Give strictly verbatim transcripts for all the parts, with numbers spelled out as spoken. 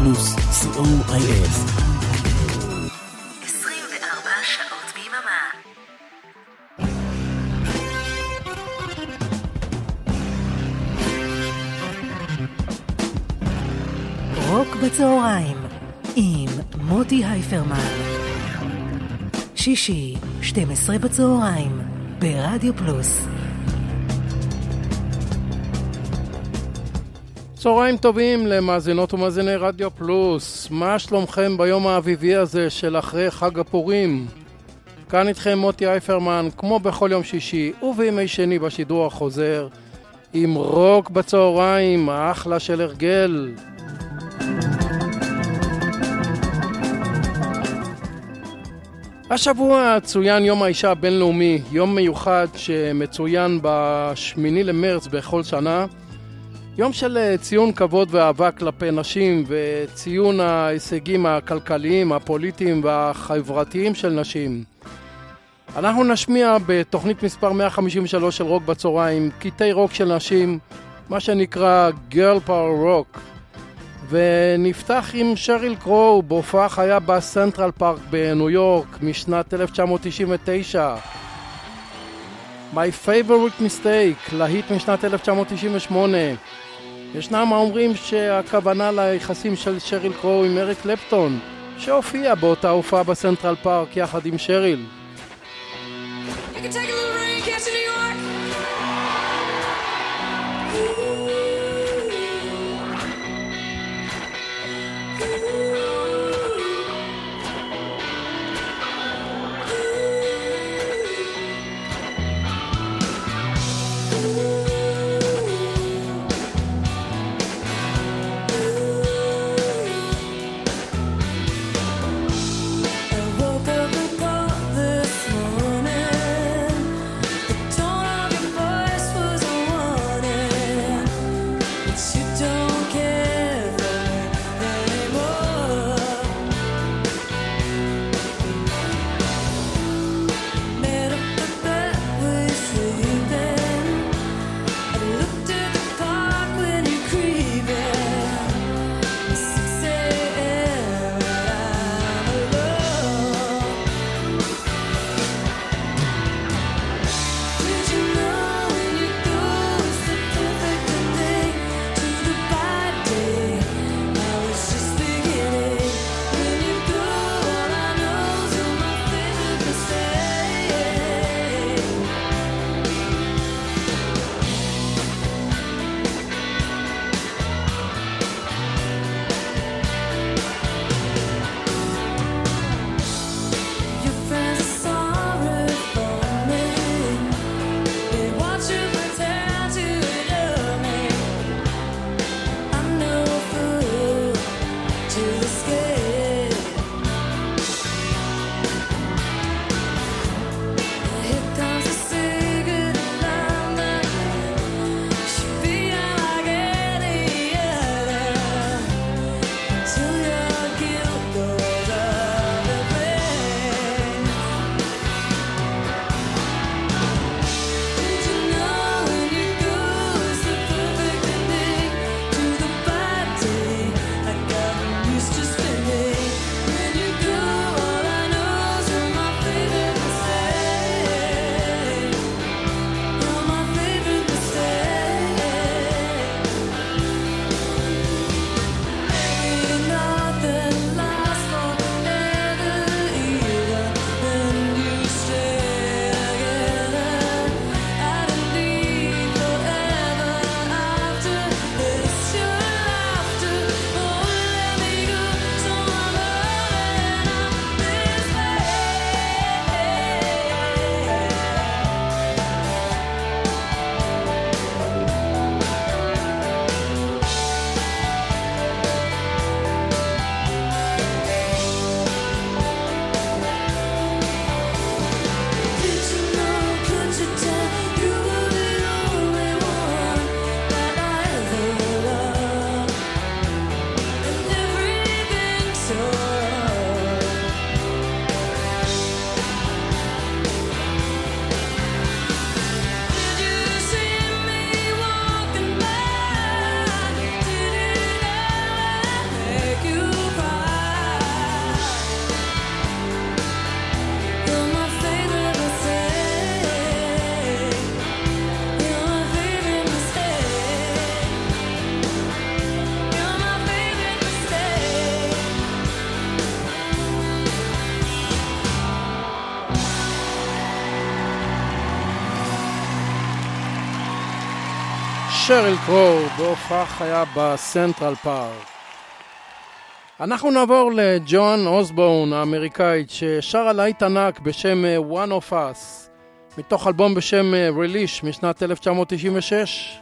פלוס, סי או איי אס. עשרים וארבע שעות ביממה. רוק בצהריים עם מוטי הייפרמן. שישי, שתים עשרה בצהריים, ברדיו פלוס. צהריים טובים למאזינות ומאזיני רדיו פלוס. מה שלומכם ביום האביבי הזה של אחרי חג הפורים? כאן איתכם מוטי הייפרמן, כמו בכל יום שישי ובימי שני בשידור החוזר, עם רוק בצהריים, האחלה של הרגל. השבוע צוין יום האישה הבינלאומי, יום מיוחד שמצוין בשמיני למרץ בכל שנה. יום של ציון כבוד ואהבה כלפי נשים וציון ההישגים הכלכליים, הפוליטיים והחברתיים של נשים. אנחנו נשמיע בתוכנית מספר מאה חמישים ושלוש של רוק בצהריים קטעי רוק של נשים, מה שנקרא Girl Power Rock. ונפתח עם שריל קרו בהופעה חיה בסנטרל פארק בניו יורק משנת אלף תשע מאות תשעים ותשע. My Favorite Mistake, להיט משנת אלף תשע מאות תשעים ושמונה. ישנם האומרים שהכוונה ליחסים של שריל קרו עם אריק קלפטון, שהופיע באותה הופעה בסנטרל פארק יחד עם שריל. You can take a little rain, catch in New York. שריל קרו בהופעה חיה בסנטרל פארק. אנחנו נעבור לג'ואן אוסבורן האמריקאית ששרה להיט ענק בשם One of Us מתוך אלבום בשם Release משנת אלף תשע מאות תשעים ושש.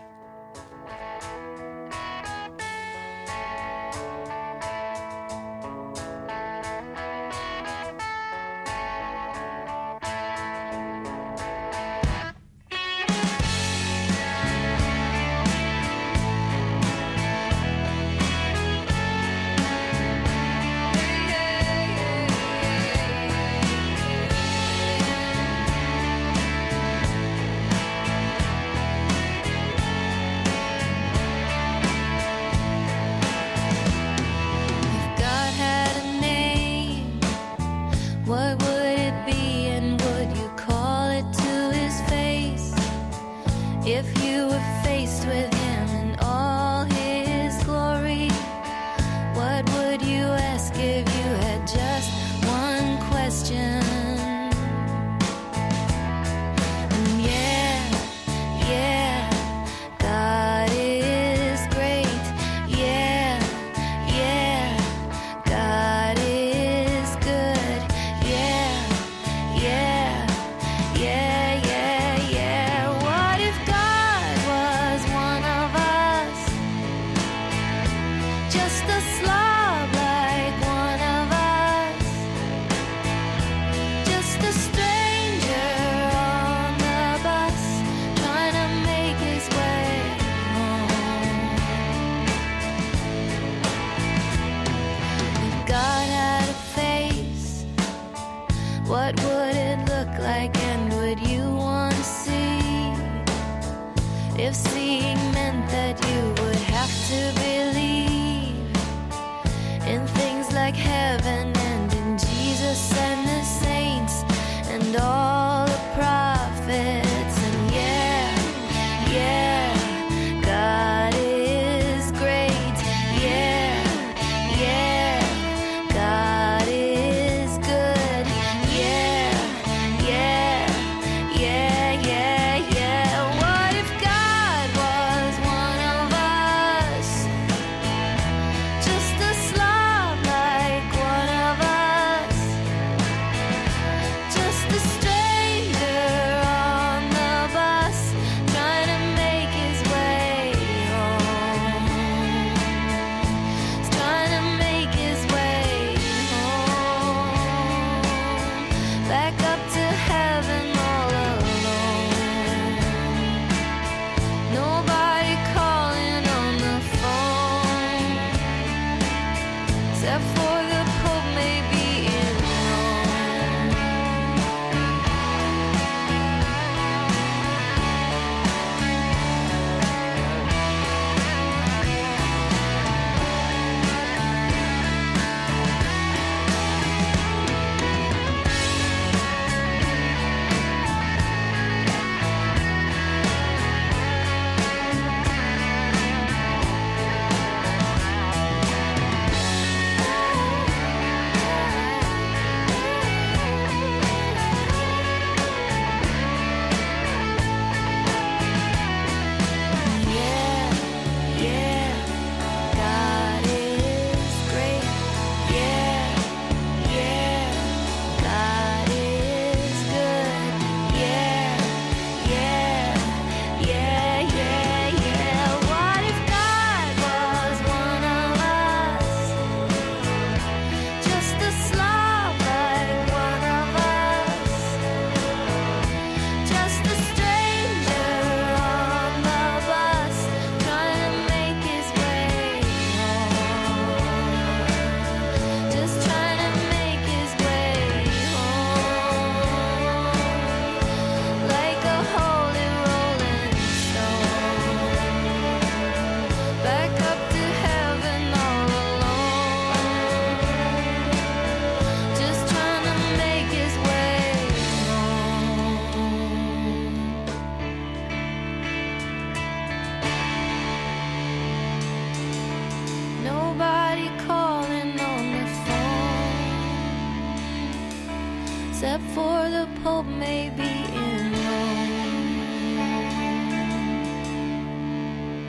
except for the Pope may be in Rome.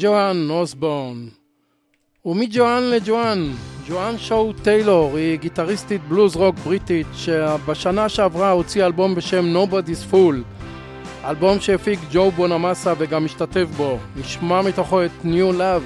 ג'ואן אוסבורן. ומג'ואן לג'ואן, ג'ואן שואו טיילור היא גיטריסטית בלוז רוק בריטית שבשנה שעברה הוציאה אלבום בשם Nobody's Fool, אלבום שהפיק ג'ו בונמאסה וגם השתתף בו. נשמע מתוכו את New Love.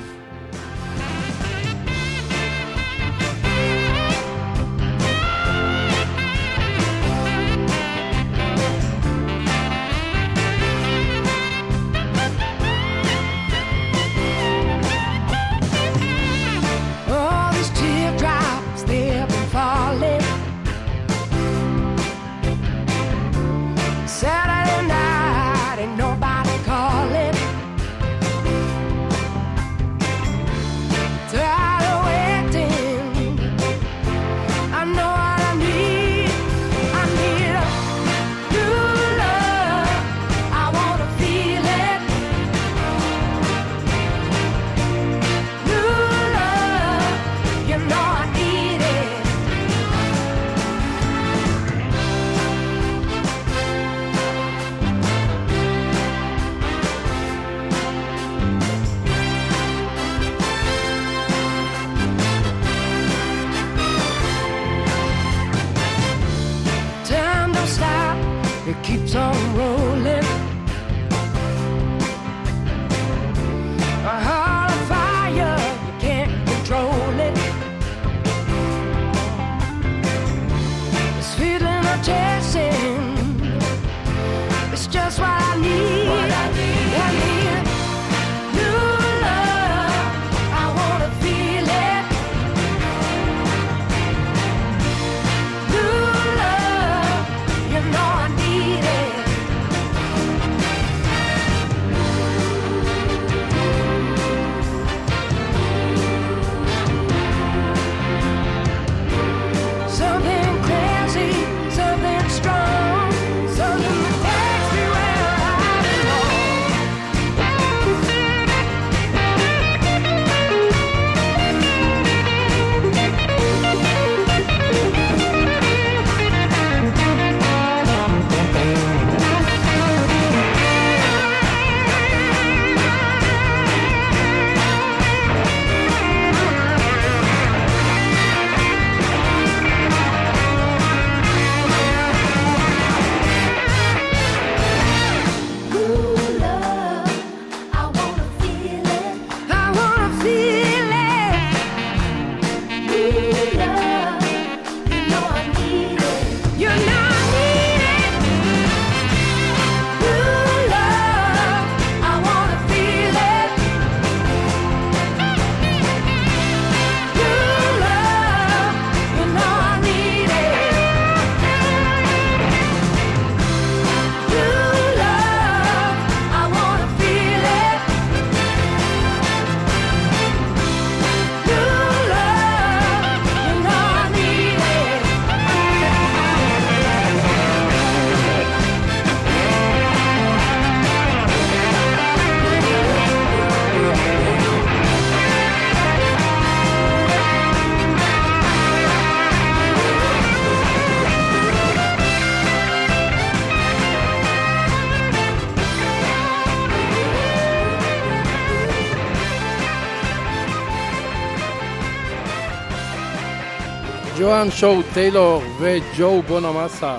ג'ואן שואו טיילור וג'ו בונמאסה.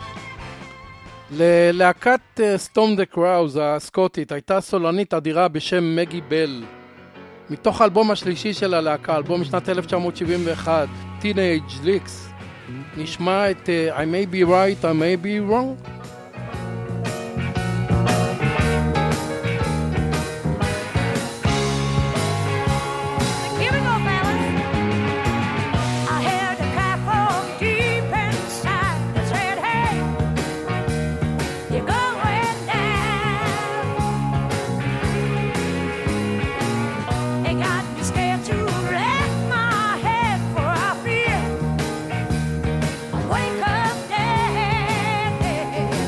ללהקת סטום דה קראוז הסקוטית הייתה סולנית אדירה בשם מגי בל. מתוך האלבום השלישי של הלהקה, אלבום משנת אלף תשע מאות שבעים ואחת, Teenage Licks, נשמע את uh, I may be right, I may be wrong. Wake up, Daddy.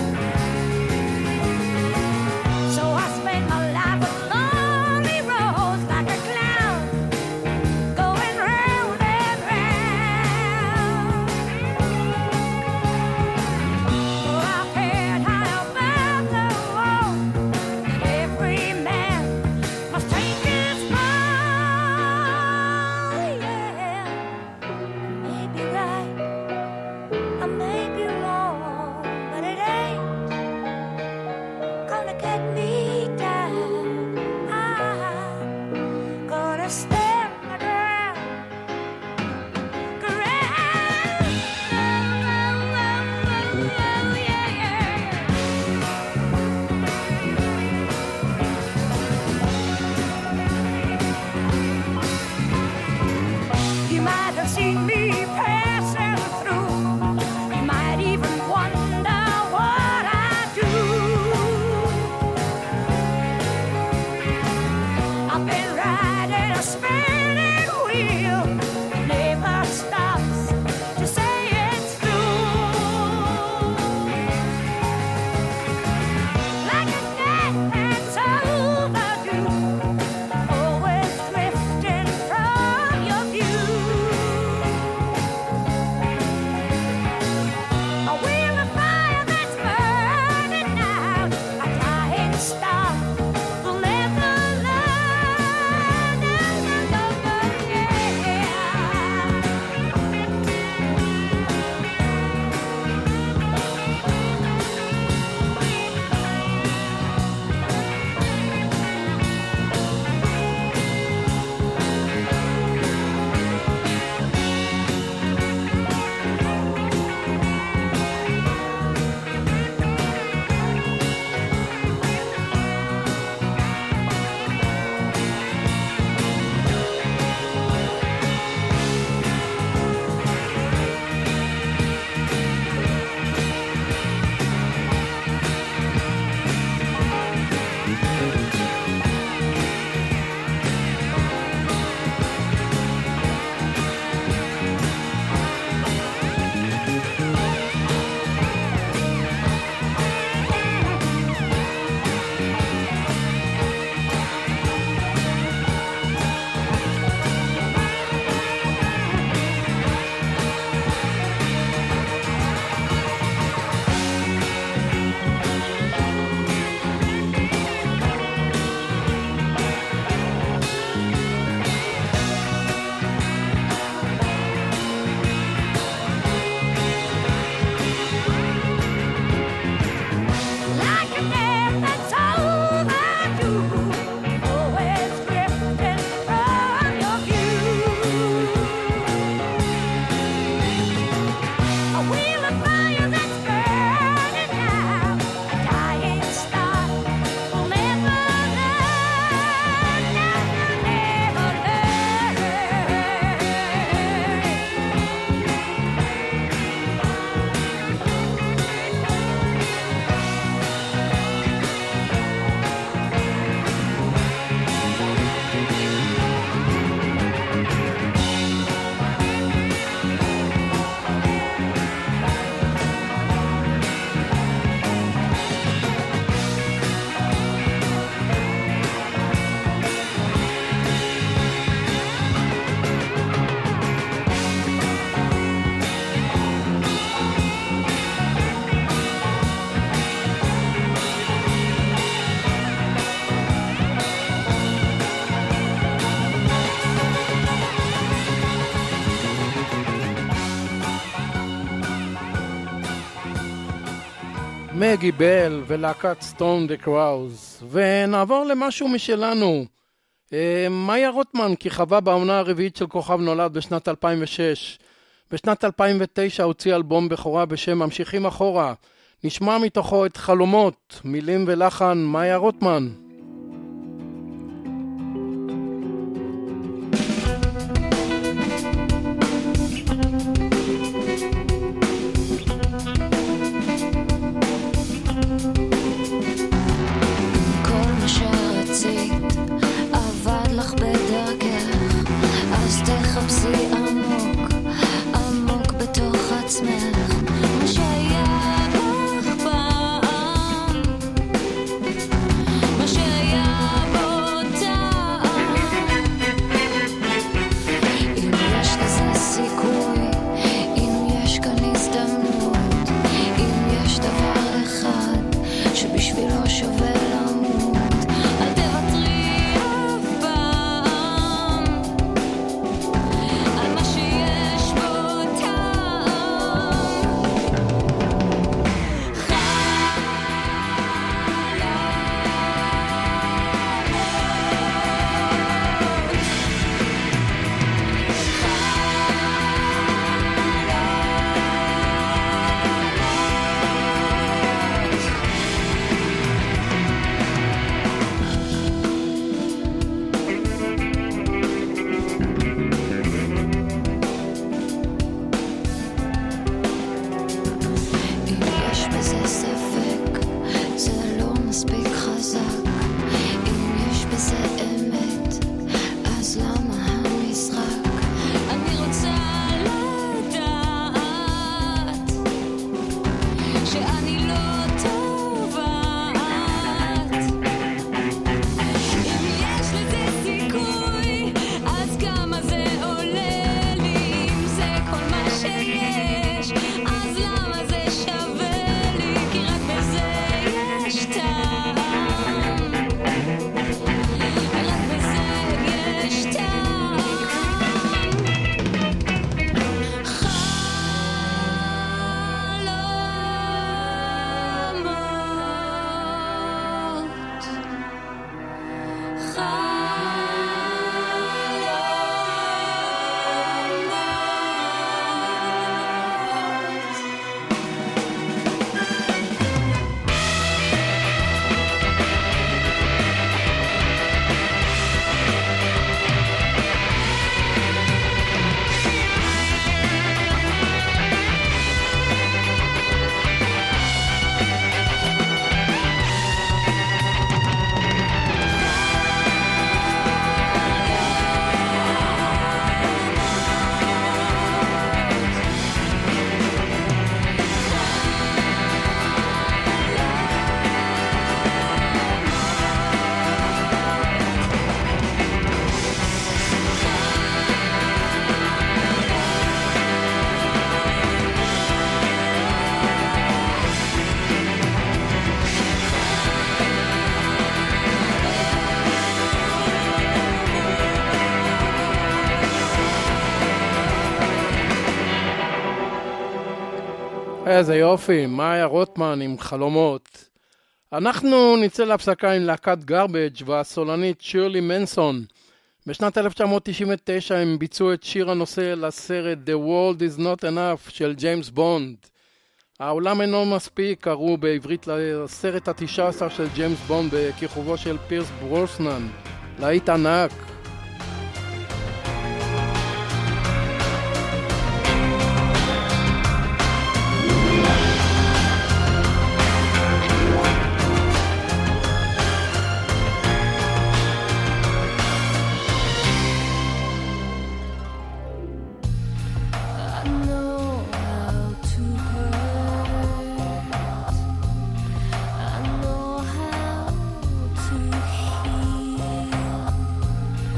מגי בל ולהקת סטון דה קראוז. ונעבור למשהו משלנו. מאיה רוטמן כיכבה בעונה הרביעית של כוכב נולד בשנת אלפיים ושש. בשנת אלפיים ותשע הוציא אלבום בכורה בשם ממשיכים אחורה. נשמע מתוכו את חלומות, מילים ולחן מאיה רוטמן. איזה יופי, מאיה רוטמן עם חלומות. אנחנו נצא להפסקה עם להקת גרבג' והסולנית שירלי מנסון. בשנת אלף תשע מאות תשעים ותשע הם ביצעו את שיר הנושא לסרט The World is Not Enough של ג'יימס בונד. העולם אינו מספיק, קראו בעברית לסרט ה-תשע עשרה של ג'יימס בונד בכיכובו של פירס ברוסנן. להיט ענק. I know how to heal.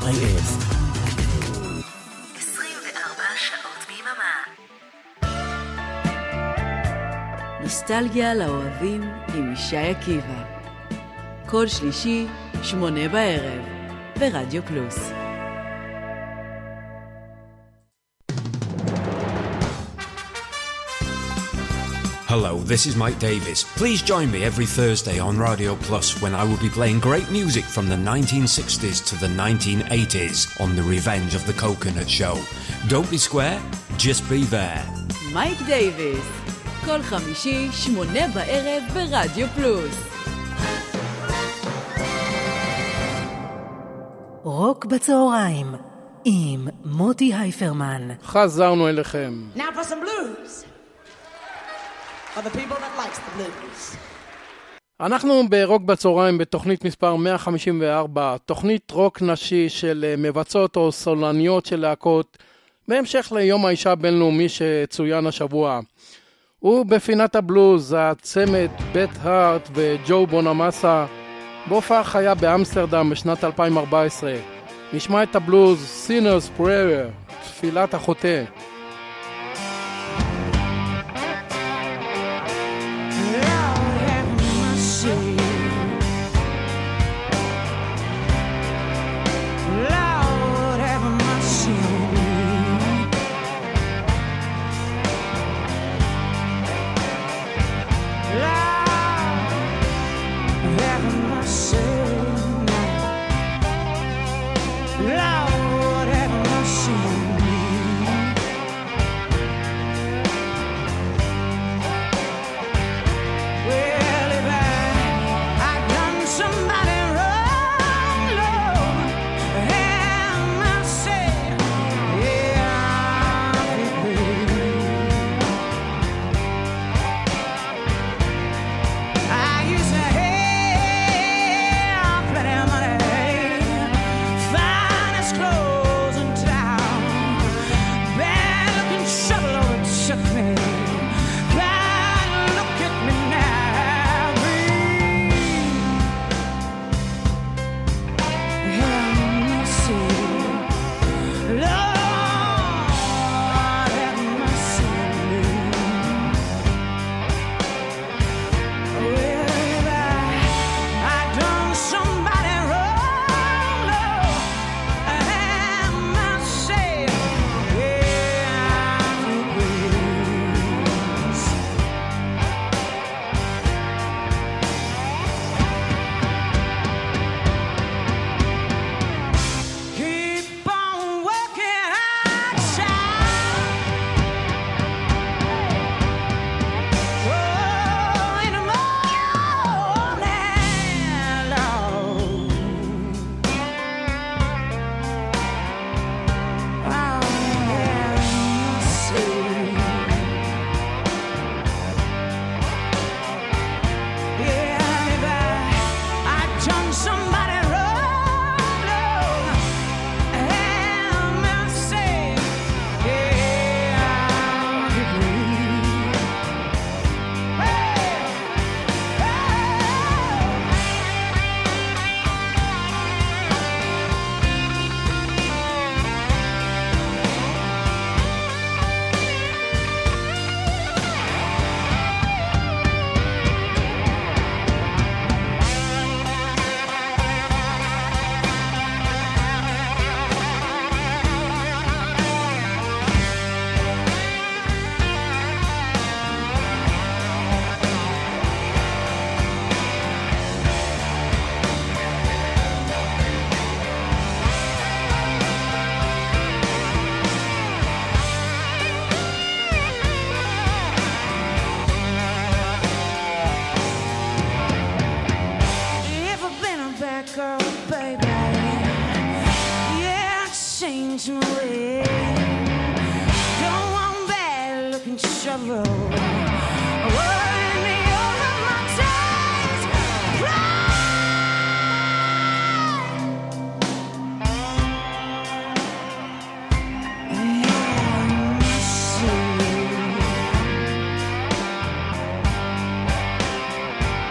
איי אס. עשרים וארבע שעות ביממה. נוסטלגיה לאוהבים עם ישי עקיבא. כל שלישי, שמונה בערב, ברדיו פלוס. Hello, this is Mike Davis. Please join me every Thursday on Radio Plus when I will be playing great music from the nineteen sixties to the nineteen eighties on The Revenge of the Coconut Show. Don't be square, just be there. מייק דייביס, כל חמישי, שמונה בערב, ברדיו פלוס. רוק בצהריים, עם מוטי הייפרמן. חזרנו אליכם. Now for some blues. For the people that likes the blues. אנחנו ברוק בצהריים בתוכנית מספר מאה חמישים וארבע, תוכנית רוק נשי של מבצעות או סולניות של להקות, בהמשך ליום האישה הבינלאומי שצוין השבוע. ובפינת הבלוז, הצמד בית הארט וג'ו בונמאסה, בהופעה חיה באמסטרדם בשנת אלפיים וארבע עשרה. נשמע את הבלוז Sinner's Prayer, תפילת החוטא.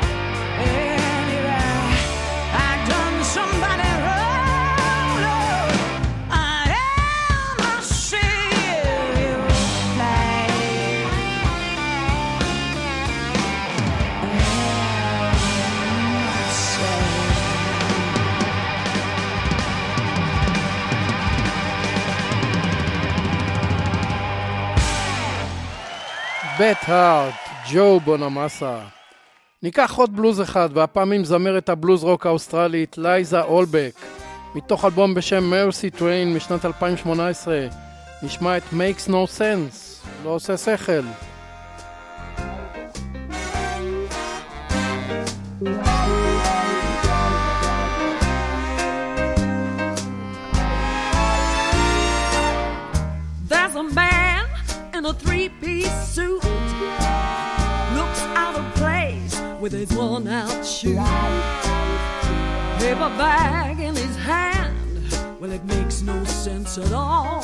Somebody run, Lord. בט הארט, ג'ו בונמאסה. ניקח עוד בלוז אחד, והפעם עם זמרת הבלוז רוק האוסטרלית לייזה אולבק, מתוך אלבום בשם Mercy Train משנת אלפיים שמונה עשרה. נשמע את Makes No Sense, לא עושה שכל. There's a man in a three-piece suit, looks out of place with his worn-out shoe, paper bag in his hand. Well, it makes no sense at all.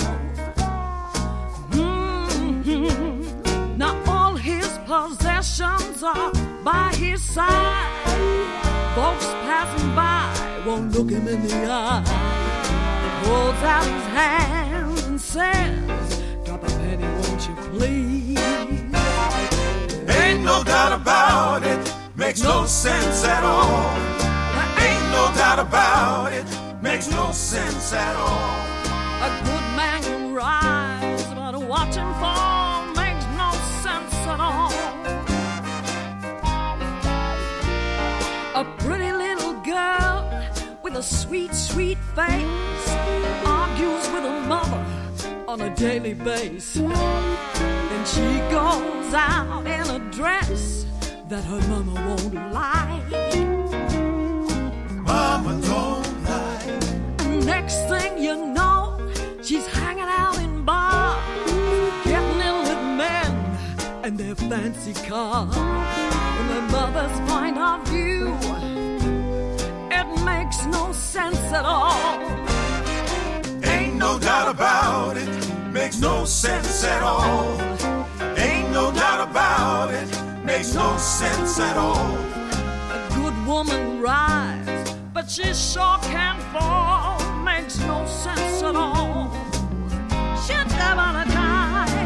Mm-hmm. Now all his possessions are by his side. Folks passing by won't look him in the eye. He holds out his hand and says, "Drop a penny, won't you please?" Ain't no doubt about it, makes no sense at all. Ain't no doubt about it, makes no sense at all. A good man can rise, but watch him fall makes no sense at all. A pretty little girl with a sweet, sweet face argues with her mother on a daily basis. Then she goes out in a dress that her mama won't like. Mama don't like. Next thing you know, she's hanging out in bars, getting in with men and their fancy cars. From her mother's point of view, it makes no sense at all. Ain't no doubt about it, makes no sense at all. Ain't no doubt about it, makes no sense at all. A good woman rise, but she sure can't fall. Makes no sense at all. She'll never die.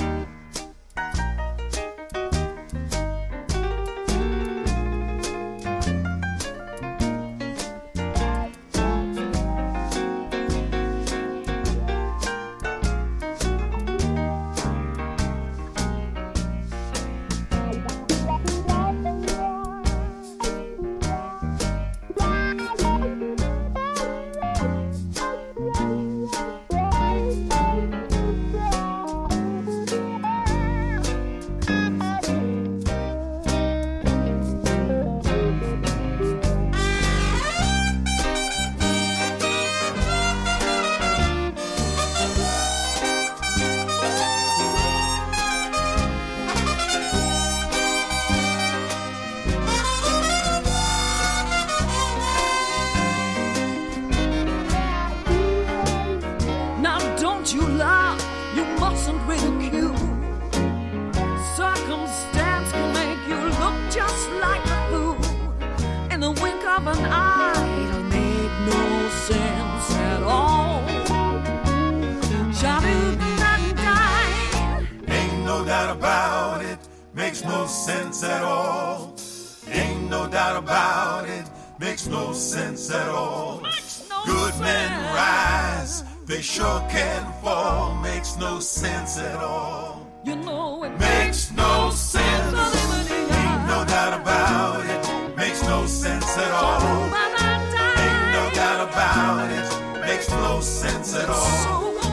They sure can fall, makes no sense at all. You know it makes no sense. Ain't no doubt about it, makes no sense at all. Ain't no doubt about it, makes no sense at all. So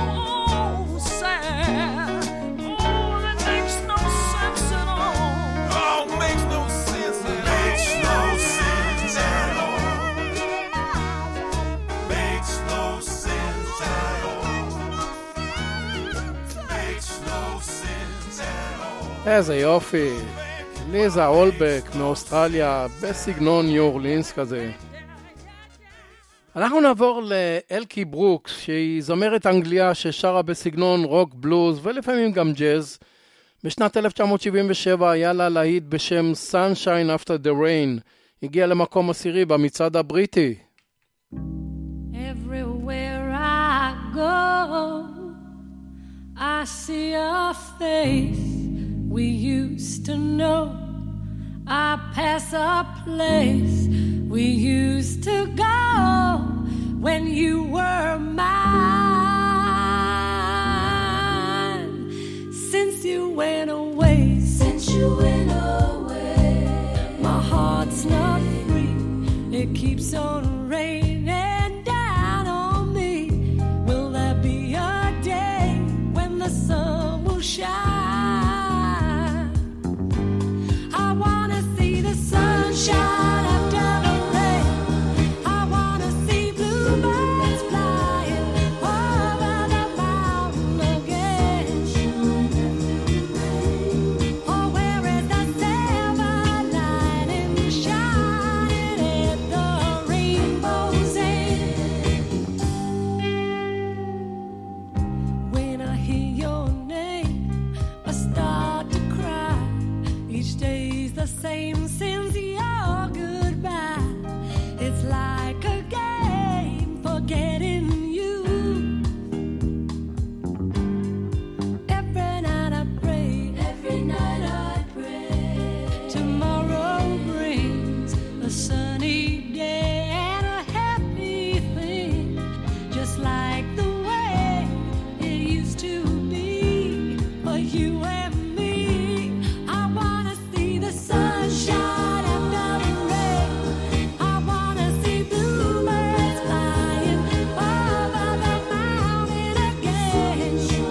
sad. Oh, it makes no sense at all. Oh, makes no sense. Makes no sense at all. Makes no sense at all. איזה יופי, ליזה אולבק מאוסטרליה בסגנון ניו אורלינס כזה. אנחנו נעבור לאלקי ברוקס, שהיא זמרת אנגליה ששרה בסגנון רוק בלוז ולפעמים גם ג'אז. בשנת אלף תשע מאות שבעים ושבע היה לה להיט בשם Sunshine After the Rain, הגיע למקום עשירי במצעד הבריטי. Everywhere I go, I see a face we used to know. I pass a place we used to go when you were mine. Since you went away it keeps on raining down on me. Will there be a day when the sun will shine? I wanna see the sunshine after the rain. I wanna see bluebirds flying over the mountain again. Oh, where is the silver lining shining at the rainbow's end? When I hear your name, I start to cry. Each day's the same since your goodbye. It's like a game forgetting you. Every night I pray, every night I pray. Tomorrow brings a sunny day and a happy thing, just like the way it used to be for you and me. I wanna see the sunshine after the rain. I wanna see bluebirds flying over the mountain again.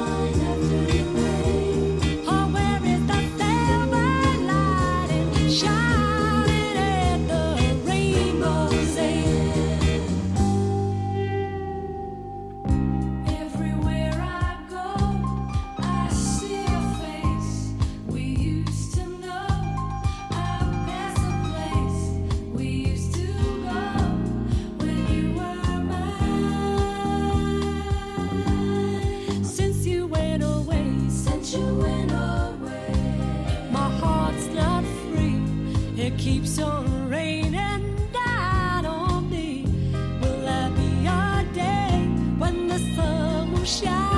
Oh, where is the silver lining shining at the rainbow's end? Everywhere I go, I see your face. We used to know. I pass a place we used to go when you were mine. Since you went away, since you went away, my heart's not free. It keeps on raining down on me. Will there be a day when the sun will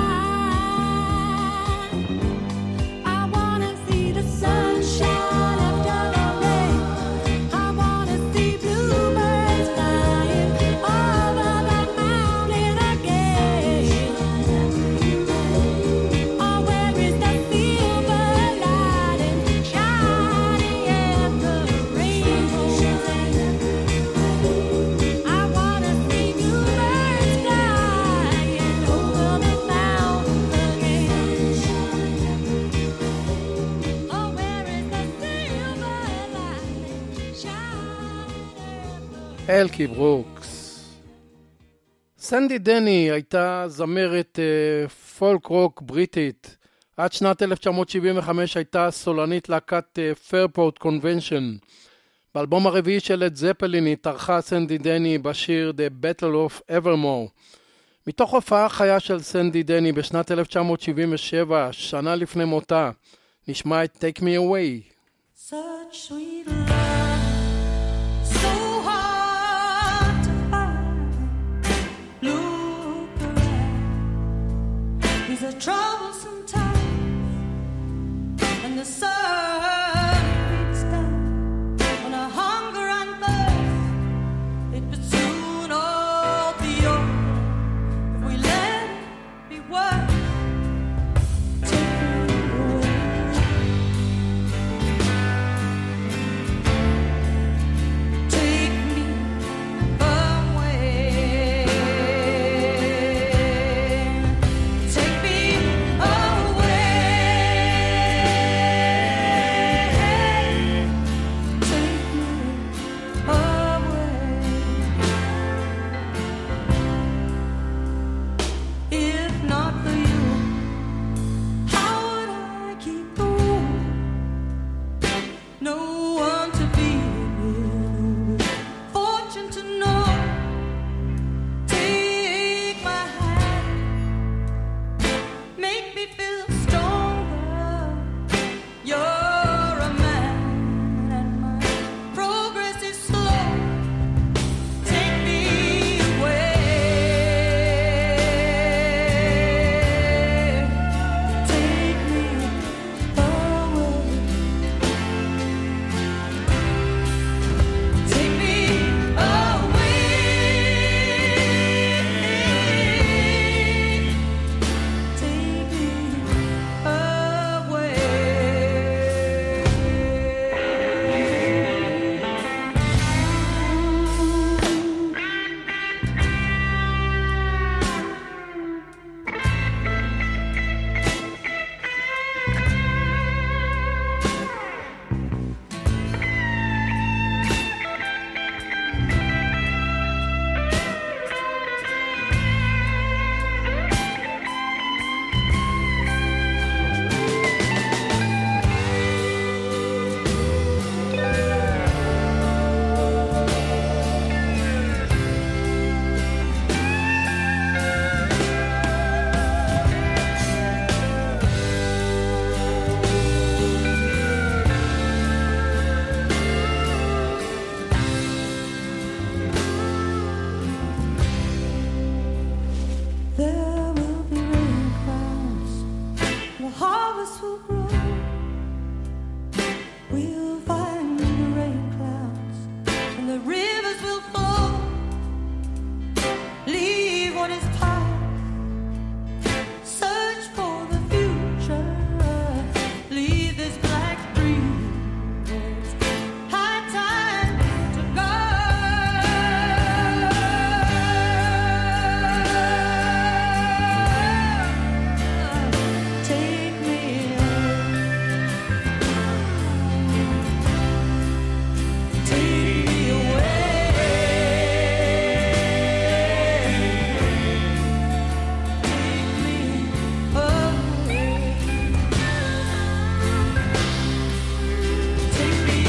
shine? I wanna see the sunshine after the rain. I wanna see bluebirds flying over the mountain again. Oh, where is the silver lining shining at the rainbow's end? I wanna see bluebirds flying over the mountain again. Oh, where is the silver lining shining at the אלקי ברוקס. סנדי דני הייתה זמרת אה, פולק רוק בריטית. עד שנת אלף תשע מאות שבעים וחמש הייתה סולנית להקת פיירפורט קונבנשן. באלבום הרביעי של לד זפלין התארחה סנדי דני בשיר The Battle of Evermore. מתוך הופעה חיה של סנדי דני בשנת אלף תשע מאות שבעים ושבע, שנה לפני מותה, נשמע את Take Me Away. Such sweet love, so hard to find. Look around, these are troublesome times, and the sun beats down on our hunger and thirst. It would soon all be over if we let it be worth. Take me away. Take me away. we'll find the rain clouds and the rivers will flow. Leave what is past, search for the future. Leave this black dream. It's high time to go. Take me Take me away. Take me away. Take me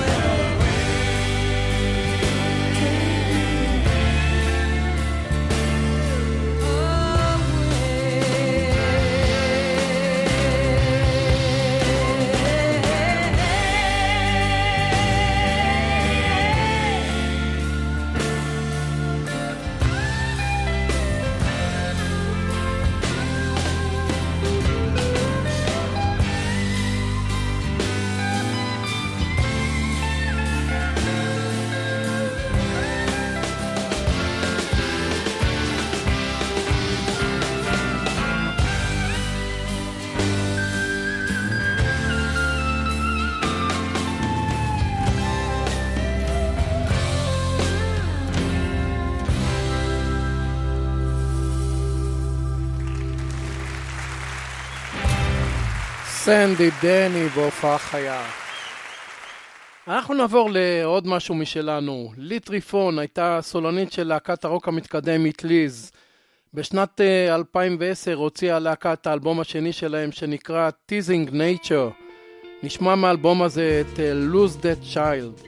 סנדי דני בהופעה חיה. אנחנו נעבור לעוד משהו משלנו. לי טריפון הייתה סולנית של להקת הרוק המתקדמית ליז. בשנת אה, אלפיים ועשר הוציאה להקת האלבום השני שלהם שנקרא Teasing Nature. נשמע מהאלבום הזה את אה, Lose That Child.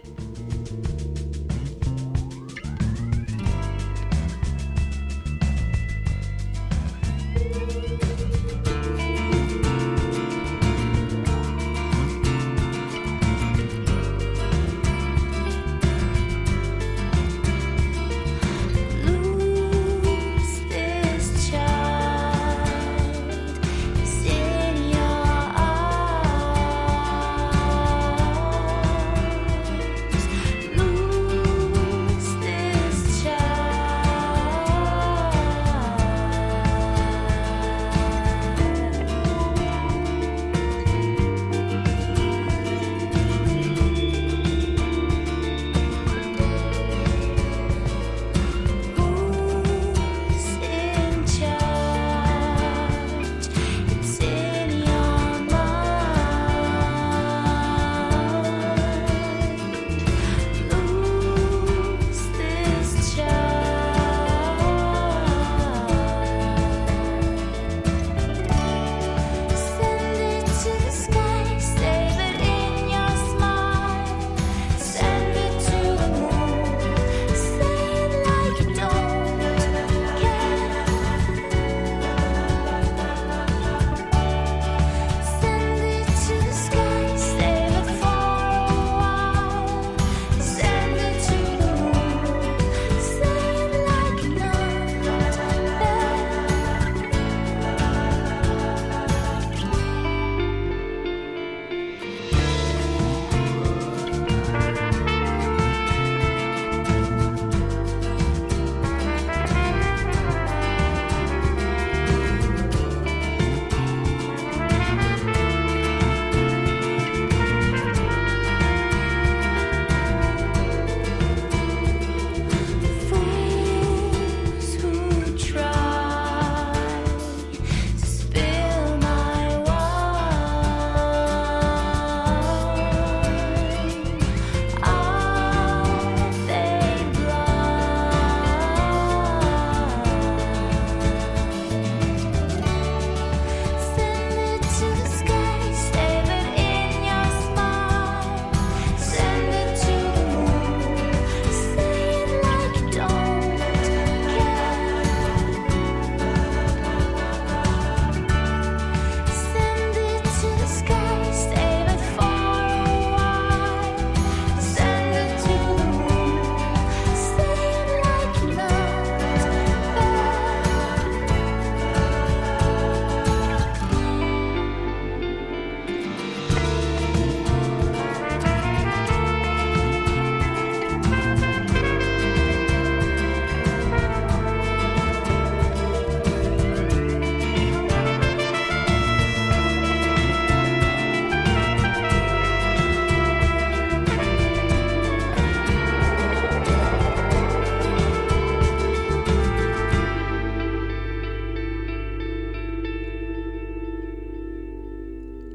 lose this child. It's in your arms.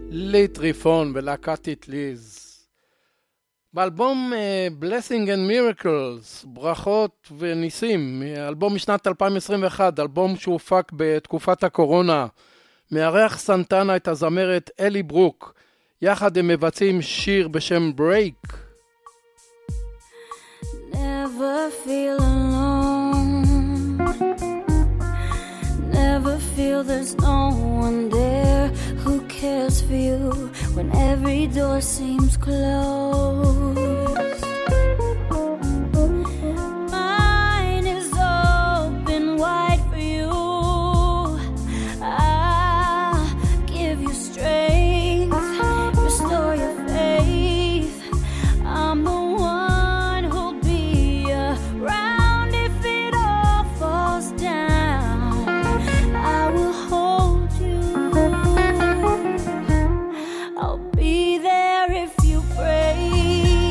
לי טריפון ולהקת איטליז. באלבום uh, Blessing and Miracles, ברכות וניסים, אלבום משנת אלפיים עשרים ואחת, אלבום שהופק בתקופת הקורונה, מארח סנטנה את הזמרת אלי ברוק, יחד הם מבצעים שיר בשם Break. Never feel alone, never feel there's no one there who cares for you when every door seems closed. Mine is open wide for you. I'll give you strength, restore your faith. I'm the one who'll be around if it all falls down. I will hold you. I'll be there if you break.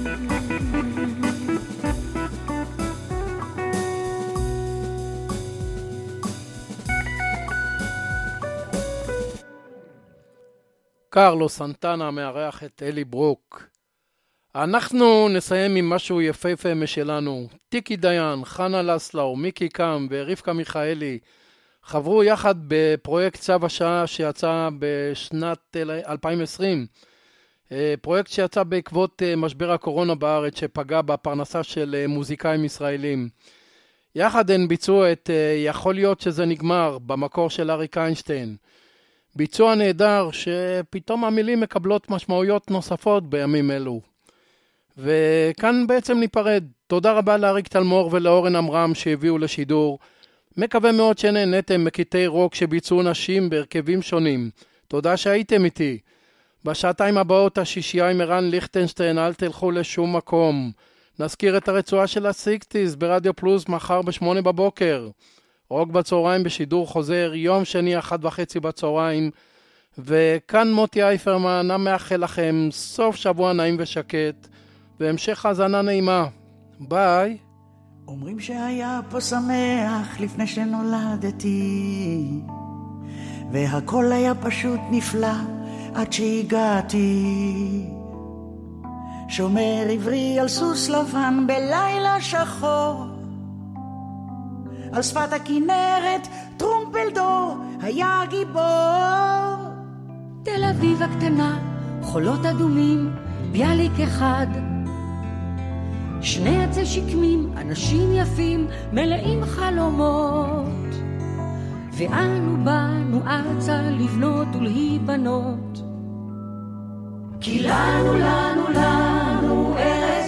קרלו סנטנה מארח את אלי ברוק. אנחנו נסיים עם משהו יפהפה משלנו. טיקי דיין, חנה לסלאו, מיקי קם ורבקה מיכאלי חברו יחד בפרויקט צו השעה שיצא בשנת אלפיים ועשרים. פרויקט שיצא בעקבות משבר הקורונה בארץ שפגע בפרנסה של מוזיקאים ישראלים. יחד הן ביצעו את יכול להיות שזה נגמר במקור של אריק איינשטיין. ביצוע נהדר שפתאום המילים מקבלות משמעויות נוספות בימים אלו. וכאן בעצם ניפרד. תודה רבה לאריק תלמור ולאורן אמרם שהביאו לשידור. מקווה מאוד שנהנתם מקטעי רוק שביצעו נשים בהרכבים שונים. תודה שהייתם איתי. בשעתיים הבאות השישייה עם ערן ליכטנשטיין, אל תלכו לשום מקום. נזכיר את הרצועה של ה-שישים ברדיו פלוס מחר בשמונה בבוקר. רוק בצהריים בשידור חוזר, יום שני אחת וחצי בצהריים. וכאן מוטי אייפרמן, מאחל לכם סוף שבוע נעים ושקט, והמשך האזנה נעימה. ביי. אומרים שהיה פה שמח לפני שנולדתי, והכל היה פשוט נפלא עד שהגעתי. שומר עברי על סוס לבן בלילה שחור, על שפת הכנרת טרומפלדור היה גיבור. תל אביב הקטנה, חולות אדומים, ביאליק אחד, שני עצי שקמים, אנשים יפים, מלאים חלומות, ואנו באנו ארצה לבנות ולהיבנות. כי לנו, לנו, לנו ארץ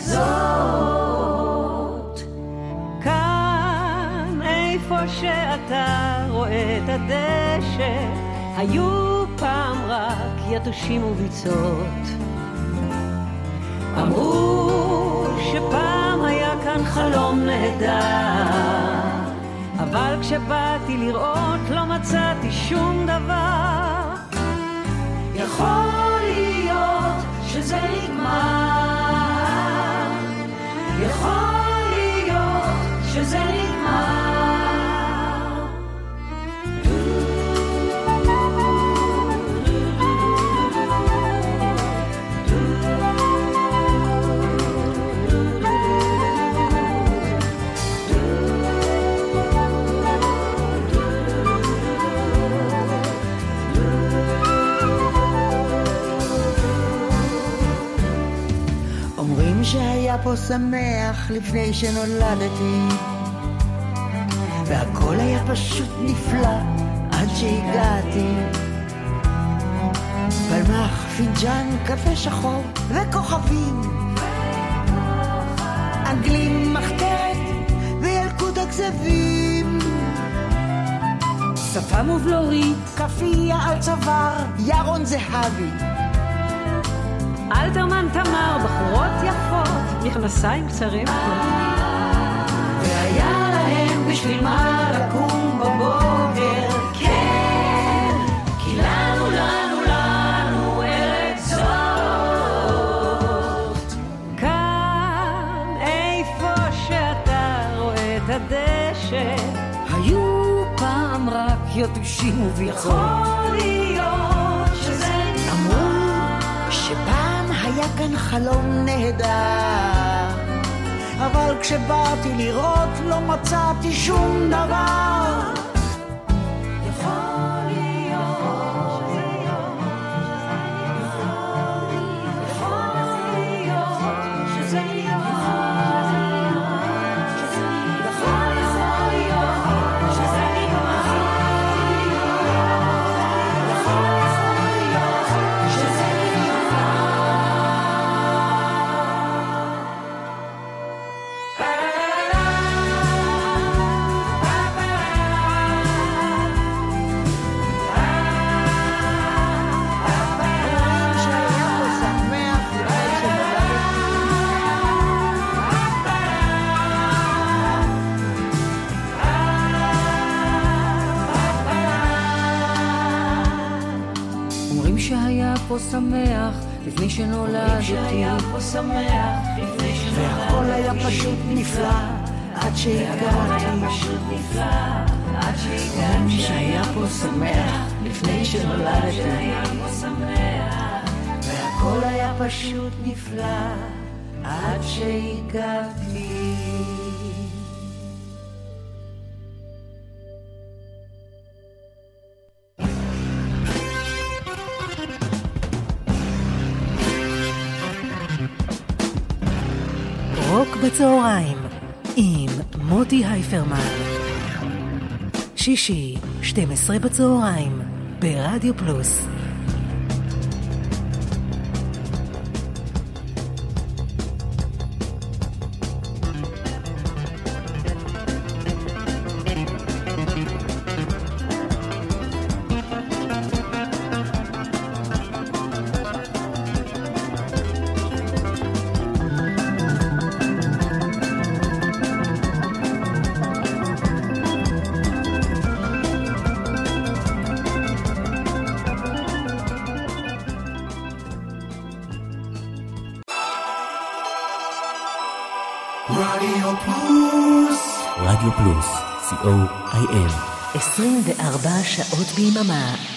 זאת. כאן איפה שאתה רואה את הדשא, היו פעם רק יתושים וביצות. אמרו שפעם היה כאן חלום נהדר, אבל כשבאתי לראות לא מצאתי שום דבר. יכול להיות שזה נגמר, יכול להיות שזה נגמר. שהיה פה שמח לפני שנולדתי, והכל היה פשוט נפלא עד שהגעתי. פלמח, פינג'אן, קפה שחור וכוכבים, אנגלים, מחתרת וילקוט הכזבים, שפה מובלורית, כפייה על צוואר, ירון זהבי, אלתרמן תמר, בחורות יפות, מכנסיים קצרים, והיה להם בשביל מה לקום בבוקר. כן, כי לנו, לנו, לנו ארץ זאת. כאן איפה שאתה רואה את הדשא, היו פעם רק יתושים וביצות. יכול להיות שזה אמרו שפעם היה כאן חלום נהדר, אבל כשבאתי לראות לא מצאתי שום דבר. יכול להיות שזה יום, יכול להיות שזה יום, יכול להיות שזה שהיה פה שמח לפני שנולדתי, שהיה פה שמח, לפני שנולדתי, והכל היה פשוט נפלא, עד שהגעתי, פשוט נפלא, עד שהגעתי, מי שהיה פה שמח, לפני שנולדתי, שהיה פה שמח, והכל היה פשוט נפלא, עד שהגעתי. רוק בצהריים עם מוטי הייפרמן, שישי שתים עשרה בצהריים ברדיו פלוס. רדיו פלוס, רדיו פלוס, סי או איי אל. עשרים וארבע שעות ביממה.